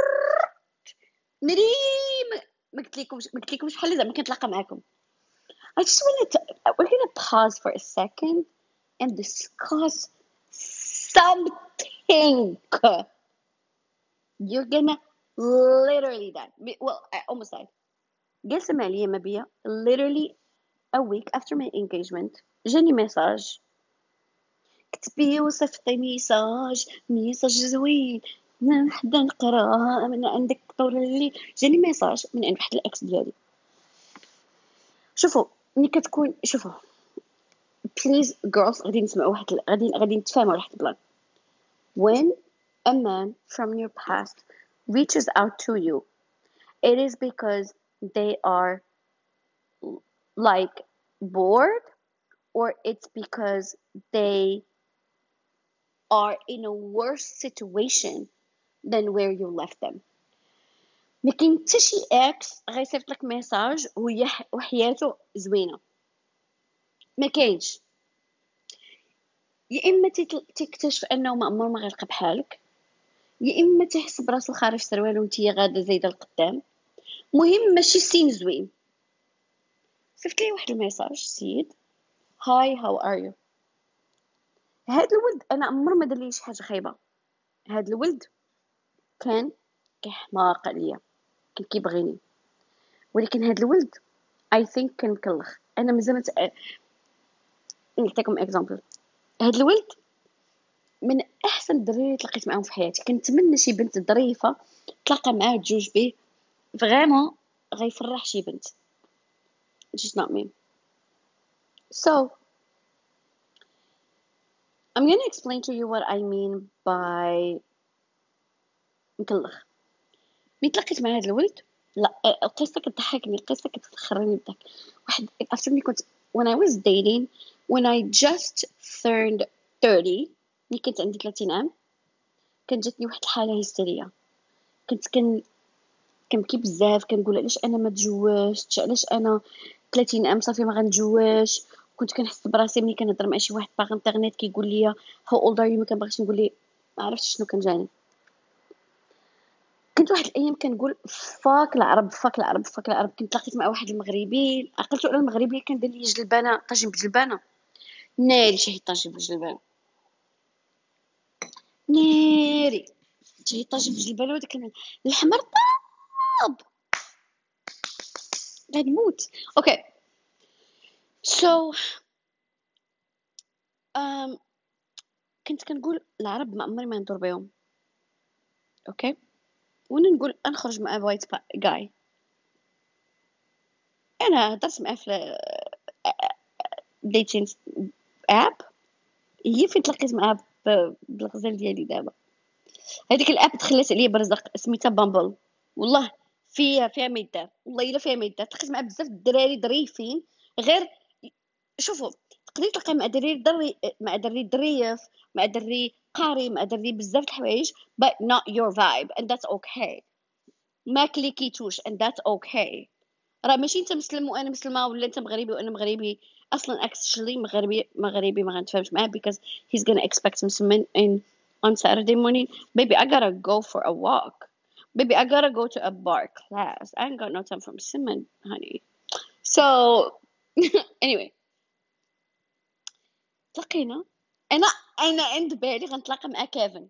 مريم ما قلتلكمش ما قلتلكمش بحال زعما كنتلاقى معاكم. I just want to we're gonna pause for a second and discuss something. You're gonna literally die. Well, I almost died. جالسة مع ليا مبيا literally a week after my engagement جاني ميساج كتبي وصيفطي ميساج ميساج زوين نحدا نقرا من عندك طول الليل. جاني ميساج من عند واحد الاكس ديالي. شوفوا ملي كتكون شوفوا بليز girls غادي نسمعوا واحد غادي غادي نتفاهموا واحد البلان. when a man from your past reaches out to you it is because they are like bored or it's because they are in a worse situation than where you left them. ما كاين حتى شي اكس غيصيفط لك ميساج وهي وحياته زوينه، ما كاينش. يا اما تكتشف انه ما عمره ما غيلقى بحالك، يا اما تحس براسو خارج سروال وانتي غاده زايده لقدام. مهم ماشي سين زوين. صيفط لي واحد الميساج سيد هاي هاو ار يو. هاد الولد انا عمر ما دار لي شي حاجه خايبه. هاد الولد كان كيحماق عليا كان كيبغيني، ولكن هاد الولد اي ثينك كان مكلخ. انا مازال مت... نعطيكم اكزامبل. هاد الولد من احسن الدراري اللي تلاقيت معاهم في حياتي. كنتمنى شي بنت ظريفه تلاقى معاه تجوج به فريمون غيفرح شي بنت. just not me. So I'm gonna explain to you what I mean by مكلخ. ملي تلاقيت مع هاد الولد لا القصه كتضحكني، القصه كتخرني بالضحك. واحد عرفتني كنت when I was dating when I just turned thirty ملي كنت عندي ثلاثين عام كانت جاتني واحد الحاله هستيريه. كنت كن كنبكي بزاف كنقول علاش انا ما تزوجتش، علاش انا ثلاثين عام صافي ما غنتزوجش. كنت كنحس براسي ملي كنهضر مع شي واحد باغ انترنيت كيقول لي how old are you ما كنبغيش نقول ليه ما عرفتش شنو كان جاني. كنت واحد الايام كنقول فاك العرب فاك العرب فاك العرب. كنت لقيت مع واحد المغربي عقلت على المغربي كان دار لي جلبانه طاجين بجلبانه ناري شي طاجين بجلبانه ناري شي طاجين بجلبانه وداك الحمر طاب غنموت. اوكي سو so, um, كنت كنقول العرب ما عمري ما ندور بهم. اوكي وانا نقول نخرج مع وايت جاي. انا هضرت معاه في ديتين اب هي فين تلاقيت معاه بالغزال ديالي دابا. هذيك الاب دخلت عليا برزق سميتها بامبل. والله فيها فيها ما يدار، والله الا فيها ما يدار. تلاقيت مع بزاف الدراري ظريفين غير شوفوا تقدري تلقاي مع دري دري مع دري ظريف مع دري قاري مع دري بزاف د الحوايج but not your vibe and that's okay. ما كليكيتوش and that's okay. راه ماشي انت مسلم وانا مسلمه ولا انت مغربي وانا مغربي. اصلا actually مغربي مغربي ما غنتفاهمش معاه because he's gonna expect مسلمين in on Saturday morning. Baby I gotta go for a walk. Baby I gotta go to a bar class. I ain't got no time for مسلمين honey. So anyway تلاقينا. انا انا عند بالي غنتلاقى مع كيفن.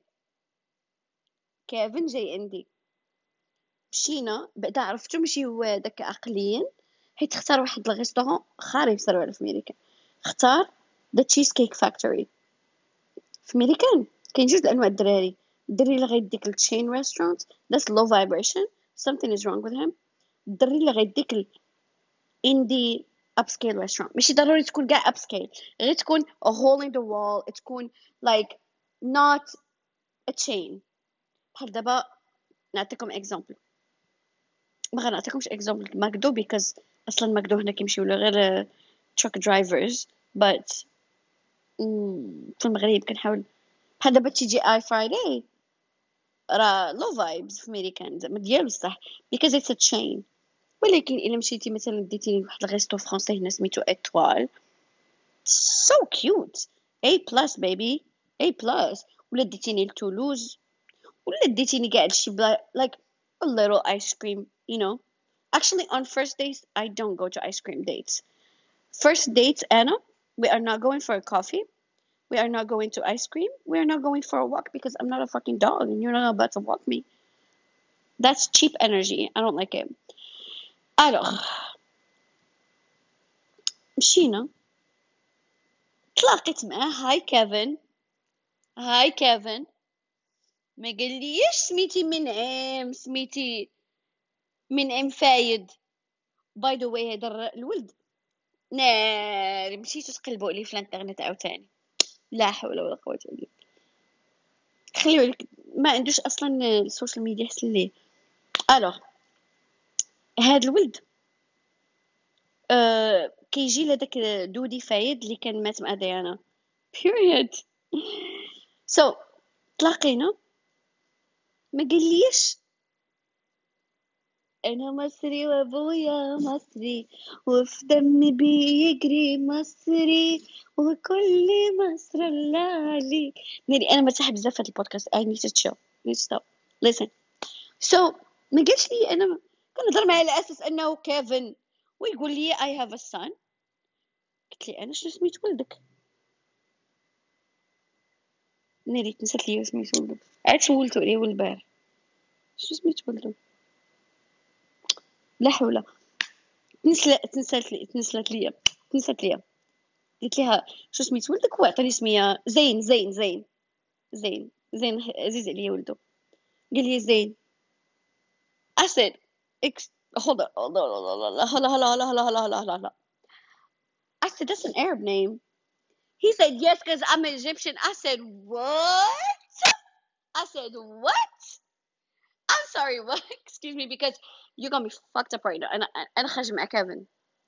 كيفن جاي عندي. مشينا بعدا عرفتو ماشي هو داك عقليا، حيت اختار واحد الريستورون خاري في سروال في ميريكان. اختار ذا تشيز كيك فاكتوري في ميريكان. كاين جوج انواع الدراري. الدري اللي غيديك التشين ريستورانت that's low vibration, something is wrong with him. الدري اللي غيديك الاندي upscale restaurant ماشي ضروري تكون كاع upscale، غير تكون a hole in the wall، تكون like not a chain. بحال دابا نعطيكم اكزامبل، ما غنعطيكمش اكزامبل ماكدو بيكوز اصلا ماكدو هنا كيمشيو له غير تراك درايفرز. but في المغرب كنحاول بحال دابا تيجي اي فرايداي راه لو فايبز في ميريكان زعما ديالو الصح because it's a chain. ولكن الا مشيتي مثلا ديتيني لواحد الريستو فرونسي هنا سميتو اتوال so cute A plus baby A plus، ولا ديتيني لتولوز، ولا ديتيني كاع هادشي بلا like a little ice cream you know. Actually on first dates I don't go to ice cream dates. First dates Anna, we are not going for a coffee, we are not going to ice cream, we are not going for a walk because I'm not a fucking dog and you're not about to walk me. That's cheap energy, I don't like it. Alors مشينا تلاقيت معاه. هاي كيفن. هاي كيفن. ما قاليش سميتي منعم سميتي منعم فايد. باي ذا واي هذا الولد ناري مشيتو تقلبوا عليه في الانترنت عاوتاني لا حول ولا قوه الا بالله. خليو لك ما عندوش اصلا السوشيال ميديا حسن ليه. الوغ هاد الولد أه كيجي لهداك دودي فايد اللي كان مات مع ديانا period. so تلاقينا ما قاليش أنا مصري وأبويا مصري وفي دمي بيجري مصري وكل مصر الله عليك. ناري أنا مرتاحة بزاف في هاد البودكاست. I need to chill need to stop listen. so ما قالش لي أنا كنهضر معاه على أساس أنه كيفن ويقول لي I have a son. قلت لي أنا شنو سميت ولدك؟ ناري تنسات لي سميت ولدو عاد سولتو عليه البارح شنو سميت ولدو لا حول. تنسلت تنسلت لي تنسلت لي تنسلت لي قلت لها شو سميت ولدك؟ هو عطاني سميه زين زين زين زين زين عزيز عليا ولدو. قال لي زين. I said Ex- hold on hold on hold on hold on hold on hold on hold on hold on hold on. I said that's an Arab name. He said yes because I'm Egyptian. I said what? I said what? I'm sorry what? Excuse me because you got me fucked up right now. انا انا خارجه مع كيفن.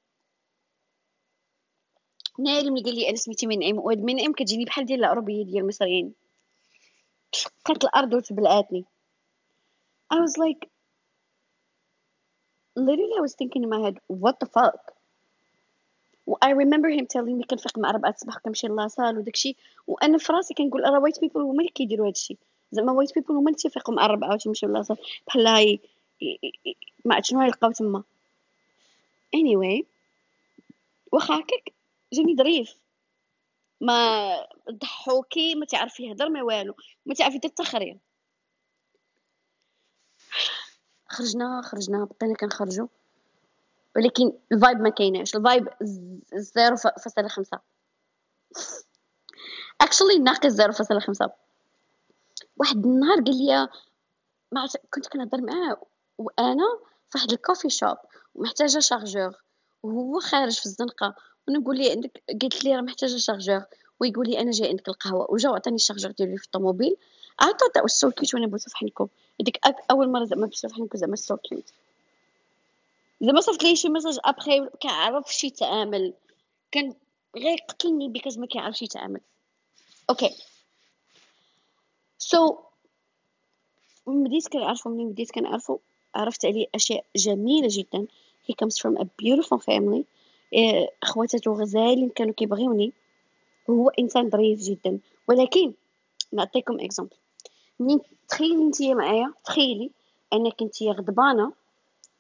ناري ملي قال لي انا سميتي منعم وهاد منعم كتجيني بحال ديال العربيه ديال المصريين. شقات الارض وتبلعاتني. I was like literally I was thinking in my head what the fuck. I remember him telling me كنفيق مع ربعة الصباح كنمشي لاصال وداكشي وانا في راسي كنقول راه وايت بيبل هما اللي كيديروا هادشي زعما وايت بيبل هما اللي تيفيقوا مع الربعة وتيمشيو لاصال بحال هاي ما عرفت شنو يلقاو تما. anyway واخا هكاك جاني ظريف ما ضحوكي ما تعرف يهضر ما والو ما تعرف يدير حتى خريه. خرجنا خرجنا بقينا كنخرجوا ولكن الفايب ما كايناش. الفايب صفر فاصلة خمسة actually ناقص صفر فاصلة خمسة. واحد النهار قال لي ما عرفت كنت كنهضر معاه وانا في واحد الكوفي شوب ومحتاجه شارجور وهو خارج في الزنقه وانا نقول لي عندك قلت لي راه محتاجه شارجور ويقول لي انا جاي عندك القهوه وجا عطاني الشارجور ديالي في الطوموبيل. عطا تا سو كيوت وانا بوسف حنكم ديك اول مره زعما بوسف حنكم زعما سو كيوت زعما صيفط لي شي ميساج ابخي كيعرفش يتعامل كان غير قتلني بيكاز ما كيعرفش يتعامل. اوكي سو من بديت كنعرفو منين بديت كنعرفو عرفت عليه اشياء جميله جدا. he comes from a beautiful family. إيه، اخواتاتو غزالين كانوا كيبغيوني. هو انسان ظريف جدا ولكن نعطيكم اكزامبل. منين تخيلي نتيا معايا تخيلي انك نتيا غضبانه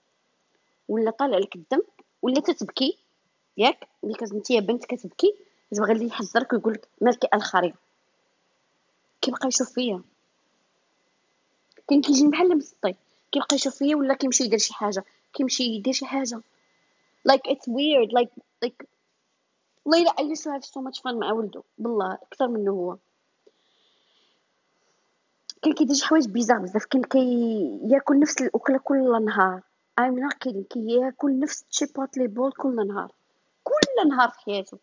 ولا طالع لك الدم ولا تتبكي ياك بيكاز نتيا بنت كتبكي دابا غادي يحذرك ويقول لك مالك الخريطه، كيبقى يشوف فيا، كاين كيجي بحال مسطي كيبقى يشوف فيا ولا كيمشي يدير شي حاجه، كيمشي يدير شي حاجه like it's weird like like ليلى I used to have so much fun مع ولده بالله اكثر منه هو. كان كيدير شي حوايج بيزار بزاف، كان كياكل نفس الاكله كل نهار I'm not kidding، كياكل نفس تشيبوتلي بول كل نهار كل نهار في حياته.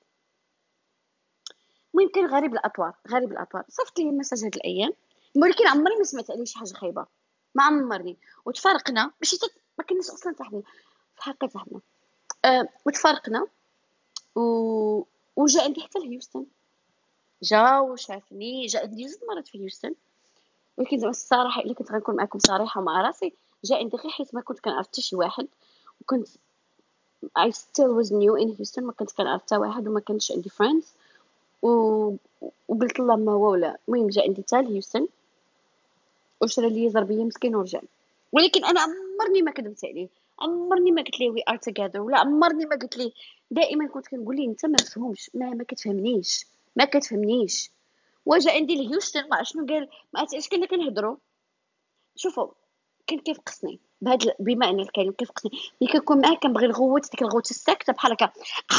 المهم كان غريب الاطوار غريب الاطوار صيفط لي مساج هاد الايام، ولكن عمري ما سمعت عليه شي حاجه خايبه، ما عمرني. وتفارقنا ماشي تت... ما كناش اصلا صاحبين في حقيقه صاحبنا أه... وتفارقنا و... وجا عندي حتى لهيوستن، جا وشافني، جا عندي جوج مرات في هيوستن، ولكن زعما الصراحه الا كنت غنكون معكم صريحه مع راسي، جا عندي غير حيت ما كنت كنعرف حتى شي واحد، وكنت I still was new in Houston، ما كنت كنعرف حتى واحد وما كانش عندي friends و... وقلت له ما هو ولا. المهم جا عندي حتى لهيوستن وشرا لي زربيه مسكين ورجع. ولكن انا عمرني ما كذبت عليه، عمرني ما قلت ليه وي ار توغيذر، ولا عمرني ما قلت ليه. دائما كنت كنقول ليه انت ما مفهومش، ما ما كتفهمنيش ما كتفهمنيش. وجا عندي لهيوستن ما عرفت شنو قال، ما عرفتش كنا كنهضروا. شوفوا كان كيفقسني بهاد ال- بما ان الكلمه كيفقسني، ملي كنكون معاه كنبغي نغوت ديك الغوت الساكته بحال هكا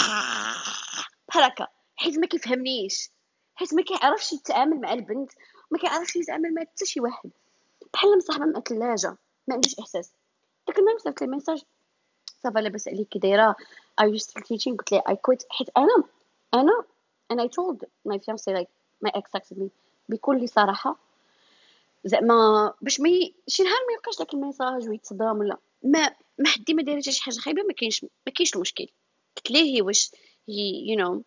بحال هكا، حيت ما كيفهمنيش، حيت ما كيعرفش يتعامل مع البنت، ما كيعرفش يتعامل مع حتى شي واحد، بحال مصاحبه مع ثلاجه ما عندوش احساس. داك النهار صيفط لي ميساج صافا لاباس عليك كي دايره are you still teaching، قلت ليه I quit، حيت انا انا and I told my fiancé like my ex texted me بكل صراحه، زعما باش ما ي... شي نهار ما يلقاش داك الميساج ويتصدم ولا ما ما حدي ما دايره شي حاجه خايبه، ما كاينش ما كاينش المشكل. قلت ليه هي واش هي you know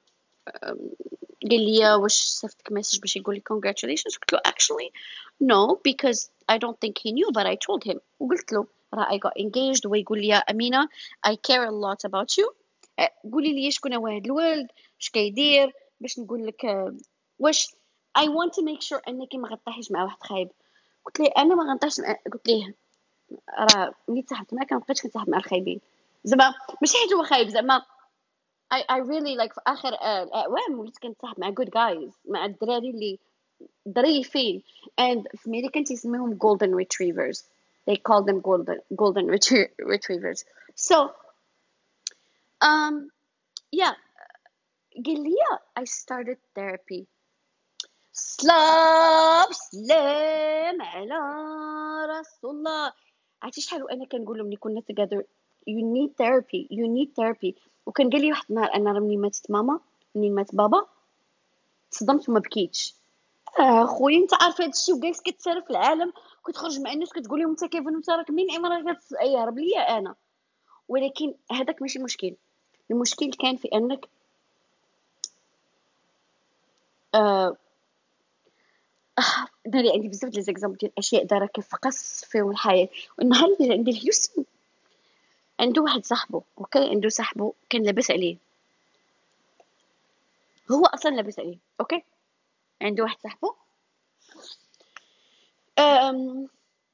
قال لي واش صيفطك ميساج باش يقول لي congratulations، قلت له actually no because I don't think he knew but I told him. وقلت له راه I got engaged، ويقول لي أمينة I care a lot about you، أه، قولي لي شكون هو هاد الولد واش كيدير باش نقول لك أه، واش I want to make sure انك ما غطيحيش مع واحد خايب. قلت ليه انا ما غنطيحش مع... قلت ليه راه ملي تصاحبت معاك ما بقيتش كنتصاحب مع الخايبين، زعما ماشي حيت هو خايب، زعما I I really like في آخر آه، الأعوام وليت كنتصاحب مع good guys، مع الدراري اللي ظريفين and في ميريكان تيسميهم golden retrievers، they call them golden golden retrie- retrievers. So um yeah قال لي I started therapy. سلام سلام على رسول الله. عرفتي شحال وانا كنقول له ملي كنا together you need therapy you need therapy. وكان قال لي واحد النهار انا راه منين ماتت ماما منين مات بابا تصدمت وما بكيتش. اه خويا انت عارف هذا الشيء وجالس كتسالى في العالم، كتخرج مع الناس كتقول لهم انت كيف انت راك منين امراه كتهرب ليا انا. ولكن هذاك ماشي مشكل، المشكل كان في انك آه داري عندي بزاف ديال ليزيكزامبل ديال الاشياء دارها كيفقس فيهم الحياه. والنهار اللي عندي الهيوستن عنده واحد صاحبه اوكي، عنده صاحبه كان لاباس عليه، هو اصلا لاباس عليه اوكي، عنده واحد صاحبه أم...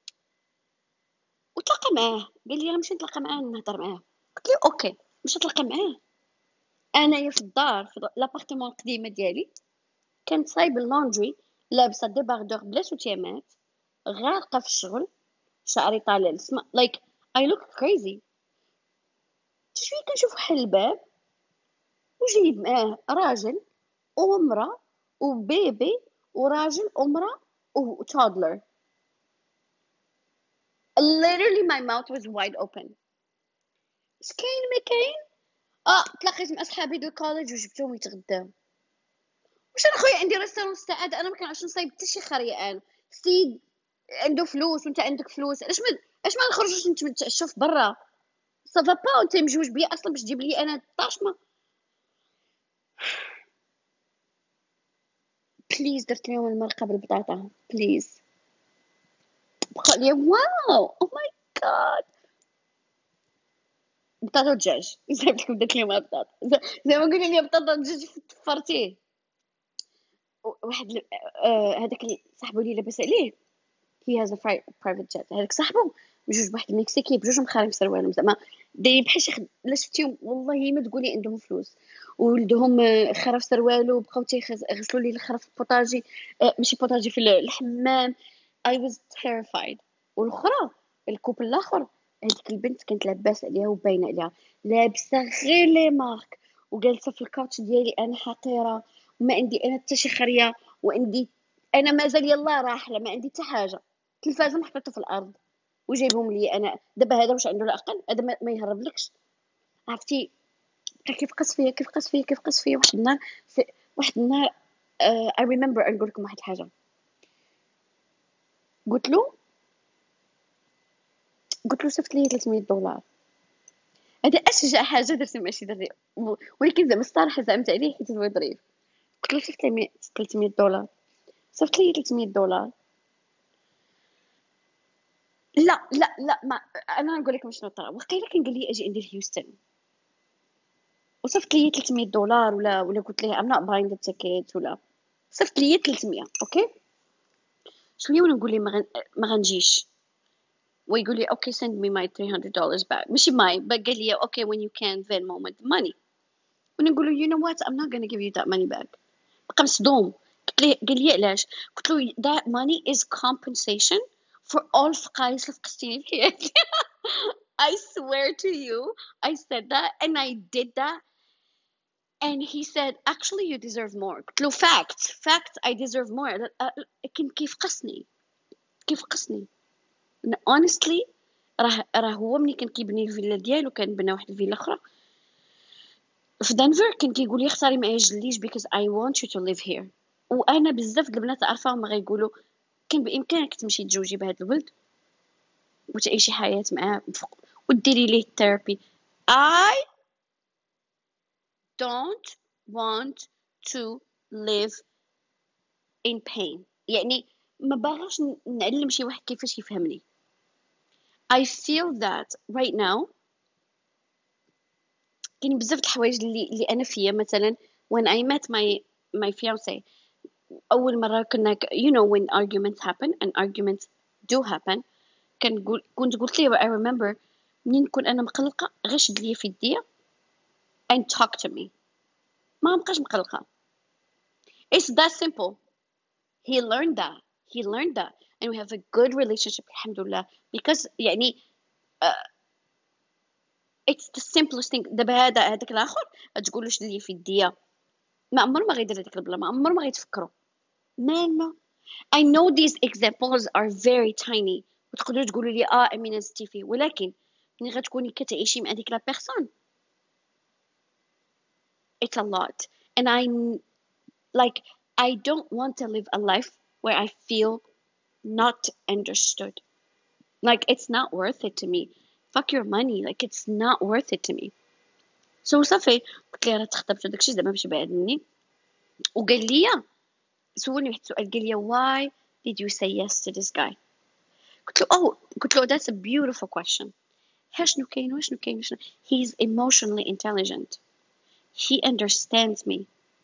وتلاقى معاه، قال لي انا مشيت نتلاقى معاه نهضر معاه. قلت له اوكي مشيت نتلاقى معاه. انايا في الدار في لابارتمون القديمه ديالي كانت صايبه اللوندري، لابسه ديباردور بلا سوتيامات، غارقه في الشغل، شعري طالع للسما like I look crazy. شويه كنشوف حل الباب وجايب معاه راجل ومراه وبيبي وراجل ومراه وتودلر. literally my mouth was wide open. اش كاين ما كاين؟ اه تلاقيت مع صحابي ديال الكوليج وجبتهم يتغداو. واش انا خويا عندي ريستورون السعاده، انا ما كنعرفش نصايب حتى شي خريه. انا سيد عنده فلوس وانت عندك فلوس، علاش ما علاش ما نخرجوش نتعشوا في برا؟ صافا با وانت مجوج بيا اصلا باش تجيب لي انا الطاشمه. بليز درت لهم المرقه بالبطاطا بليز. بقى لي واو او ماي جاد بطاطا ودجاج صايبت لكم درت لهم البطاطا زي ما قولي لي بطاطا ودجاج فرتيه. واحد ال- آه، هذاك اللي صاحبو اللي لاباس عليه he has a pri- private jet، هذاك صاحبو بجوج بواحد المكسيكي بجوج مخارم سروالهم زعما دايرين بحال شي خد... لا شفتيهم والله ما تقولي عندهم فلوس وولدهم آه، خرف سروالو بقاو تيغسلوا لي الخرف في البوطاجي آه، ماشي بوطاجي في الحمام. I was terrified. والاخرى الكوبل الاخر هذيك البنت كانت لاباس عليها وباينه عليها لابسه غير لي مارك وجالسه في الكاوتش ديالي انا حقيره وما عندي انا حتى شي خريه وعندي انا مازال يلا راحله ما عندي حتى حاجه التلفازه محطوطه في الارض وجايبهم لي انا دابا هذا واش عنده العقل هذا ما, ما يهربلكش عرفتي بقى كيف قص فيا كيف قص فيا كيف قص فيا واحد النهار في واحد النهار uh, I remember نقول لكم واحد الحاجه قلت له قلت له صيفط لي ثلاثمية دولار هذا اشجع حاجه درتها ماشي دري ولكن زعما الصراحه زعمت عليه حيت هو ظريف قلت له صيفط لي ثلاثمية دولار صيفط لي ثلاثمية دولار لا لا لا ما انا نقول لكم شنو طرا وقيلا كان قال لي اجي ندير هيوستن وصيفط لي ثلاثمية دولار ولا ولا قلت ليه I'm not buying the ticket ولا صيفط لي ثلاثمية اوكي شنو نقول لي ما, غن... ما غنجيش ويقول لي okay send me my three hundred dollars back ماشي ماي but قال لي okay when you can Venmo with the money ونقول له you know what I'm not gonna give you that money back بقى مصدوم قلت ليه قال لي علاش قلت له that money is compensation for all فقايس اللي فقستيني في حياتي I swear to you I said that and I did that and he said actually you deserve more قلت له fact fact I deserve more كان كيف قصني كيف قصني honestly راه راه هو ملي كان كيبني الفيلا ديالو كان بنى واحد الفيلا اخرى في دنفر كان كيقول لي اختاري معايا جليج because I want you to live here وانا بزاف د البنات عارفاهم غيقولوا كان بامكانك تمشي تزوجي بهذا الولد وتعيشي حياه معاه وديري ليه ثيرابي I don't want to live in pain يعني ما باغاش نعلم شي واحد كيفاش يفهمني I feel that right now كاين بزاف د الحوايج اللي اللي انا فيا مثلا when I met my my fiance اول مره كنا you know when arguments happen and arguments do happen كنقول كنت قلت ليه I remember منين نكون انا مقلقه غير شد لي في يديا and talk to me ما نبقاش مقلقه it's that simple he learned that he learned that and we have a good relationship الحمد لله because يعني uh, it's the simplest thing دابا هذا هذاك الاخر تقول له شد لي في يديا ما عمره ما غيدير هذيك البلا ما عمره ما غيتفكروا مالنا I know these examples are very tiny وتقدروا تقولوا لي اه امينه ستيفي ولكن ملي غتكوني كتعيشي مع ديك لا بيرسون it's a lot and I like I don't want to live a life where I feel not understood like it's not worth it to me fuck your money like it's not worth it to me so صافي قلت ليه راه تخطبت وداكشي زعما باش بعد مني وقال لي سولني واحد السؤال قال لي why did you say yes to this guy قلت له oh قلت له that's a beautiful question شنو كاين وشنو كاين وشنو he's emotionally intelligent he understands me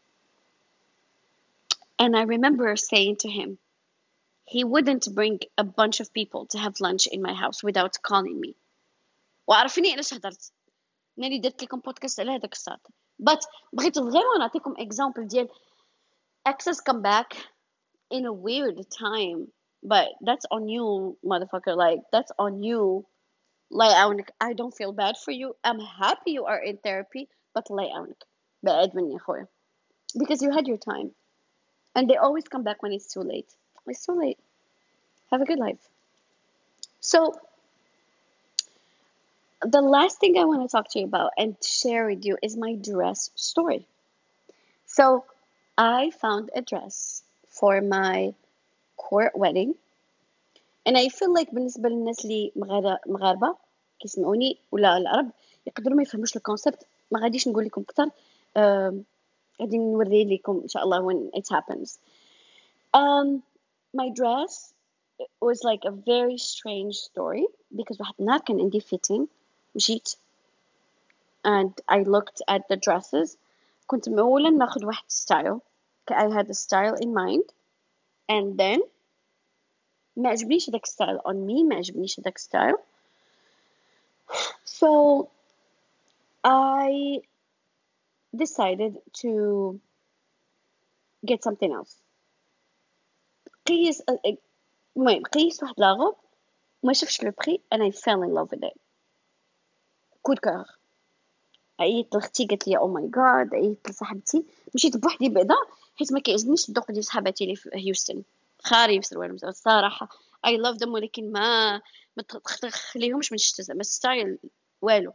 and I remember saying to him he wouldn't bring a bunch of people to have lunch in my house without calling me وعرفني علاش هضرت ناري درت لكم بودكاست على هذاك الساعه but بغيت فريمون نعطيكم example ديال access come back in a weird time but that's on you motherfucker like that's on you lie عونك I don't feel bad for you I'm happy you are in therapy but lie عونك بعد مني خويا because you had your time and they always come back when it's too late it's too late have a good life so the last thing I want to talk to you about and share with you is my dress story so I found a dress for my court wedding and I feel like بالنسبة للناس اللي مغاربة كيسمعوني ولا العرب يقدروا ما يفهموش الكونسبت ما غاديش نقول لكم اكثر غادي نوري لكم ان شاء الله when it happens um my dress was like a very strange story because واحد النهار كان عندي fitting مشيت and I looked at the dresses كنت اولا ناخذ واحد style I had a style in mind and then ما عجبنيش داك ستايل on me ما عجبنيش داك ستايل So I decided to get something else. قيس المهم قيس واحد لاغوب ما شفتش لو بري and I fell in love with it. كود كور. عيطت لختي قالت لي او ماي جاد، عيطت لصاحبتي، مشيت بوحدي بعدا حيت ما كيعجبنيش الذوق ديال صحاباتي اللي في هيوستن، خاري بسروال الصراحه اي لاف ذم، ولكن ما ما تخليهمش من الشتا زعما ستايل والو.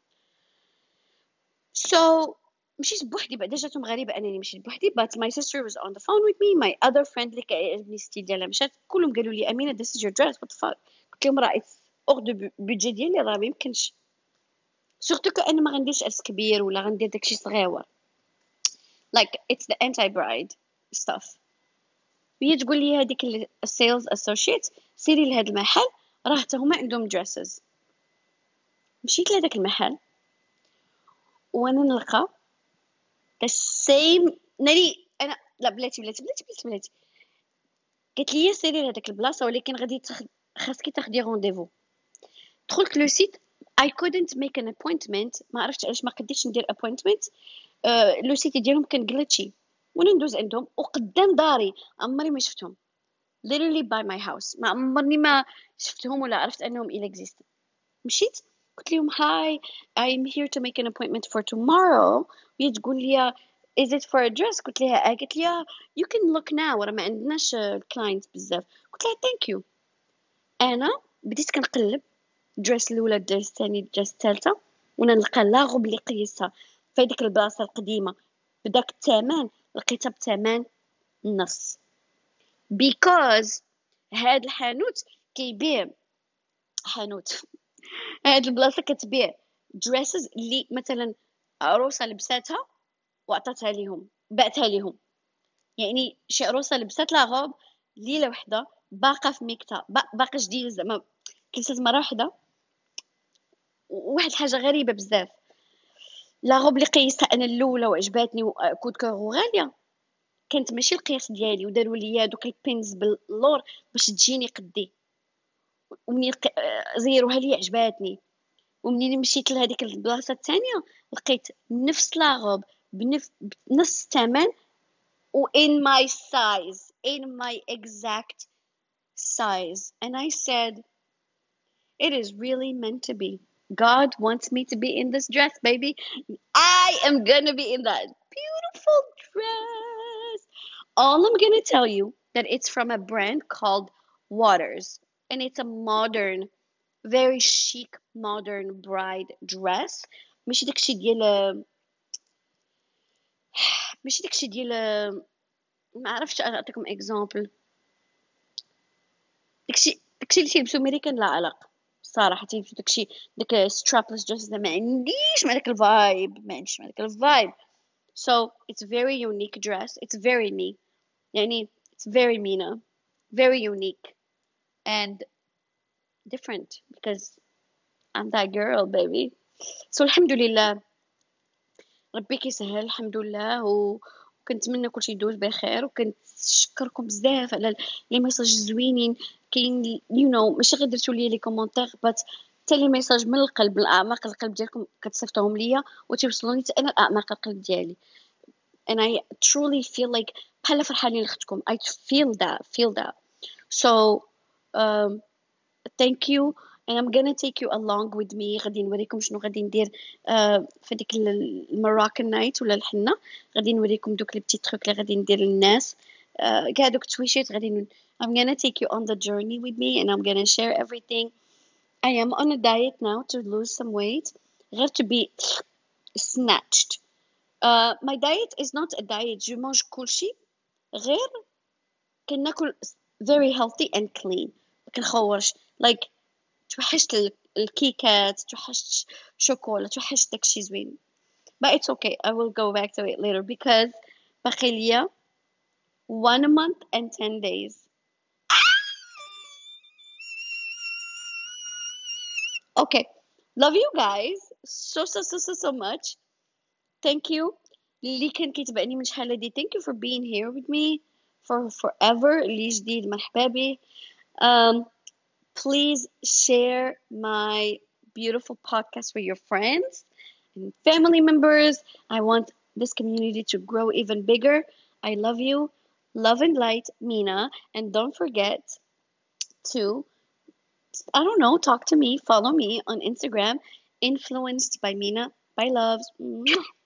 So مشيت بوحدي بعدا، جاتهم غريبه انني مشيت بوحدي but my sister was on the phone with me. my other friend اللي كيعجبني ستيل ديالها مشات، كلهم قالوا لي امينه this is your dress what the fuck. قلت لهم راه it's hors de budget ديالي، راه ما يمكنش، سورتو كأن ما غنديرش عرس كبير ولا غندير داكشي صغيور like it's the anti bride stuff. وهي تقول لي هذيك السيلز اسوشيت سيري لهذا المحل راه حتى هما عندهم دريسز. مشيت لهذاك المحل وانا نلقى the same ناري انا لا بلاتي بلاتي بلاتي بلاتي بلاتي قالت لي سيري لهذاك البلاصه ولكن غادي تخ... خاصك تاخدي رونديفو. دخلت لو سيت I couldn't make an appointment، ما عرفتش علاش ما قديتش ندير appointment. أه لو سيت ديالهم كان جليتشي وانا ندوز عندهم وقدام داري عمري ما شفتهم literally by my house، ما عمرني ما شفتهم ولا عرفت انهم il exist. مشيت قلت لهم hi I'm here to make an appointment for tomorrow. وهي تقول لي is it for a dress؟ قلت لها اه. قالت لي you can look now راه ما عندناش clients بزاف. قلت لها thank you. انا بديت كنقلب الدريس الاولى الدريس الثاني الدريس الثالثه وانا نلقى لا غوب اللي قيسها في هذيك البلاصه القديمه بداك الثمن لقيتها بثمن النص because هاد الحانوت كيبيع حانوت هاد البلاصه كتبيع dresses اللي مثلا عروسه لبساتها وعطاتها ليهم بعتها ليهم، يعني شي عروسه لبسات لا غوب ليله وحده باقا في ميكتا باقا جديده زعما كلست مره وحده. واحد الحاجه غريبه بزاف لا غوب اللي قيستها انا الاولى وعجباتني وكود كور وغاليه كانت ماشي القياس ديالي وداروا لي دوك البينز باللور باش تجيني قدي، ومنين زيروها لي عجباتني. ومنين مشيت لهذيك البلاصه الثانيه لقيت نفس لاغوب بنفس بنفس الثمن و in my size in my exact size and I said it is really meant to be. God wants me to be in this dress, baby. I am gonna be in that beautiful dress. All I'm gonna tell you that it's from a brand called Waters and it's a modern very chic modern bride dress. ماشي داكشي ديال ماشي داكشي ديال ما عرفتش نعطيكم اكزامبل. داكشي داكشي اللي تيلبسو امريكان لا علاقه صراحه، تيلبسو داكشي داك سترابلس دريس ما عنديش مع داك الفايب ما عنديش مع داك الفايب. So it's very unique dress. It's very me. يعني it's very Mina, very unique and different because I'm that girl baby. So الحمد لله ربي كيسهل الحمد لله، وكنتمنى كلشي يدوز بخير، وكنشكركم بزاف على لي ميساج زوينين كاين يو نو ماشي غير درتو لي لي كومونتير بات حتى لي ميساج من القلب من اعماق القلب ديالكم كتصيفطوهم ليا وتيوصلوني حتى انا لاعماق القلب ديالي and I truly feel like بحال فرحانين لختكم. I feel that feel that so um, thank you and I'm gonna take you along with me. غادي نوريكم شنو غادي ندير uh, في ديك المراكن نايت ولا الحنه، غادي نوريكم دوك لي بتي تروك اللي غادي ندير للناس uh, كاع دوك التويشيت غادي ن... I'm gonna take you on the journey with me and I'm gonna share everything. I am on a diet now to lose some weight غير to be snatched. uh, my diet is not a diet. je mange كلشي غير كناكل very healthy and clean ما كنخورش like توحشت الكيكات توحشت شوكولا توحشت داكشي زوين but it's okay I will go back to it later because باقي ليا one month and ten days. Okay, love you guys so so so so so much. Thank you اللي كان كيتبعني من شحال هادي. thank you for being here with me for forever. اللي جديد مرحبا به. um, please share my beautiful podcast for your friends and family members. I want this community to grow even bigger. I love you. Love and light, Mina. And don't forget to, I don't know, talk to me, follow me on Instagram, influenced by Mina. Bye, loves. Mwah.